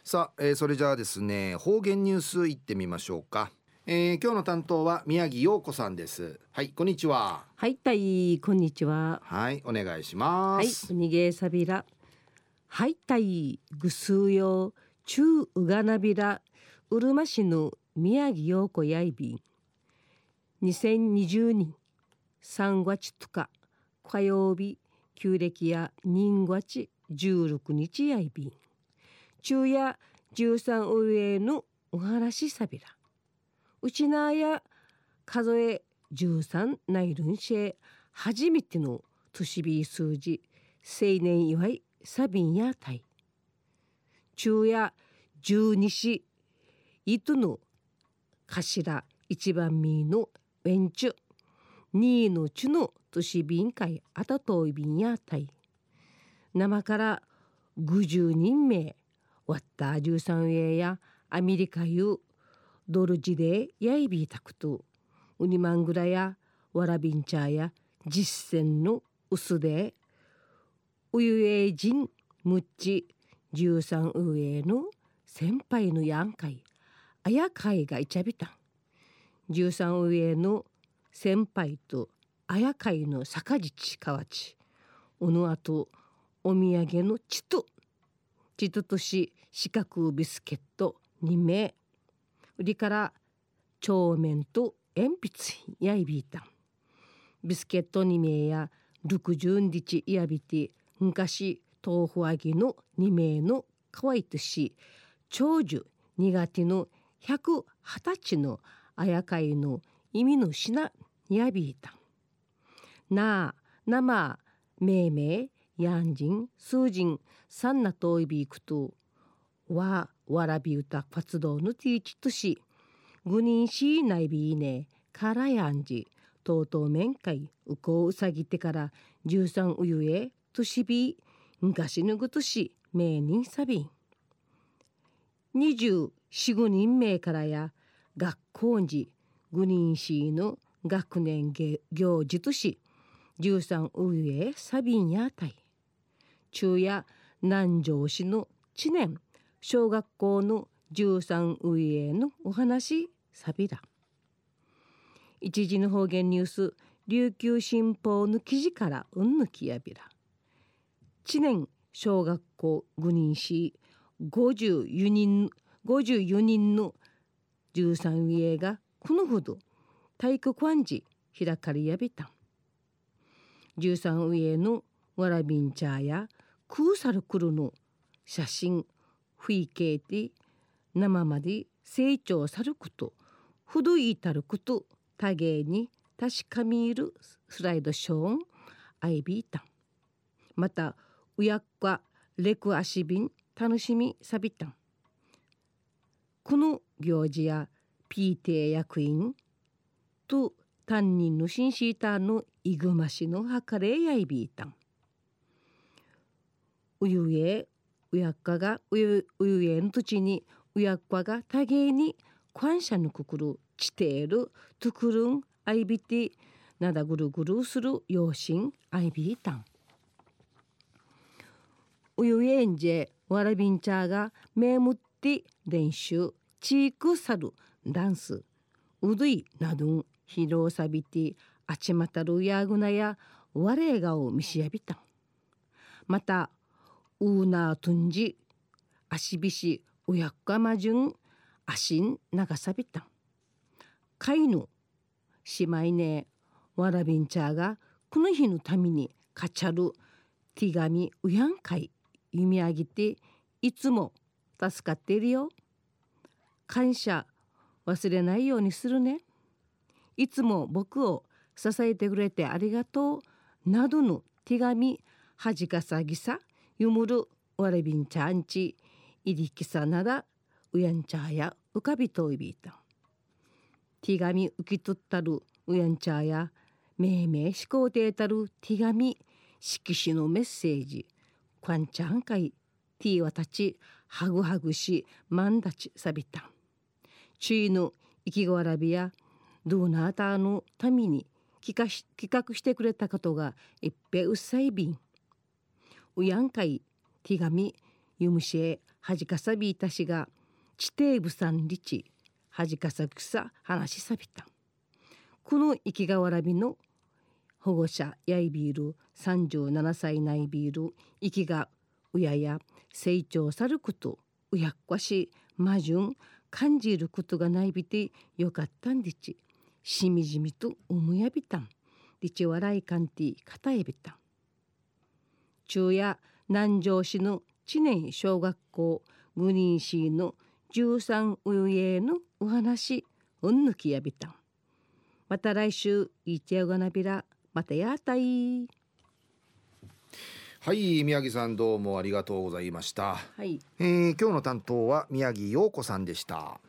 さあ、それじゃあですね、方言ニュースいってみましょうか。今日の担当は宮城陽子さんです。はい、こんにちは。 はい、こんにちは。 はい、お願いしまはい、 す。 うにげさびら。はい、ぐすうよ、ちゅううがなびら、うるま市の宮城陽子やいびん。2020年3月2日、火曜日、旧暦や人月16日やいびん。昼夜13上のお話さびら。うちなや数え13ナイルンシェ初めての年日数字青年祝いサビンやタイ昼夜十二支糸の頭一番目のウェンチュ二のチュの年便会あたといびんやタイ生から50人名わった13名やアメリカいうドルジでやいびたくとウニマングラやわらびんちゃや実践の薄でウユエ人ムッチ13上の先輩のやんかいあやかいがいちゃびたん13上の先輩とあやかいの坂地かわちおのあとお土産のチトとし四角ビスケット2名売りから帳面と鉛筆やいびいたんビスケット2名や60日やびて昔豆腐揚げの2名のかわいとし長寿苦手の120歳のあやかいの意味の品やびいたんなあ生めめやんじん数人さんなといびいくとわらび歌活動のティーチとしぐにんしないびいねからやんじとうとう面会うこうさぎてから13うゆえとしび昔ぬぐとし名人さびん24、5人名からや学校時ぐにんしの学年行事とし13うゆえさびんやたい中夜南城市の知念小学校の13上へのお話さびら一時の方言ニュース琉球新報の記事からうんぬきやびら知念小学校5人し54人の13上がこのほど体育館時開かれやびた13上のわらびんちゃやクーサルクルの写真風景で生まで成長さることふどいたること多芸に確かみるスライドショーンアイビータンまたうやっかレクアシビン楽しみさびたんこの行事や PTA 役員と担任のシンシーターのイグマシの計れやいびいたんうゆえうやっかがうゆえの土地にうやっかが多芸に感謝のくくるちてえるとくるんあいびてなだぐるぐるする養親あいびいたんうゆえんじえわらびんちゃがめむって練習チークサルダンスうどいなどんひろさびてあちまたるやぐなやわれがをみしやびたんまたウーナートンジアシビシウヤッカマジュンアシン長さびたんカイヌしまいねわらびんちゃがこの日のためにかちゃる手紙うやんかい読み上げていつも助かっているよ感謝忘れないようにするねいつも僕を支えてくれてありがとうなどの手紙はじかさぎさゆむるわれびんちゃんちいりきさならうやんちゃやうかびといびいた手紙受け取ったるうやんちゃやめいめいしこうてたる手紙色紙のメッセージこんちゃんかいティーわたちはぐはぐしまんだちさびたちゅいの生きわらびやドーナーターのために企画してくれたことがいっぺうっさいびんうやんかい手紙ゆむしえはじかさびいたしが地底部さんりちはじかさくさ話しさびた。この生きがわらびの保護者やいびる37歳ないびる生きがうやや成長さることうやっこしまじゅん感じることがないびてよかったんでちしみじみと思やびたんでち笑いかんてかたえびたん。昼夜南城市の知念小学校グニーシーの13うゆえのお話うんぬきやびたん。また来週いちやがなびらまたやたい。 はい、宮城さんどうもありがとうございました。 はい、 今日の担当は宮城陽子さんでした。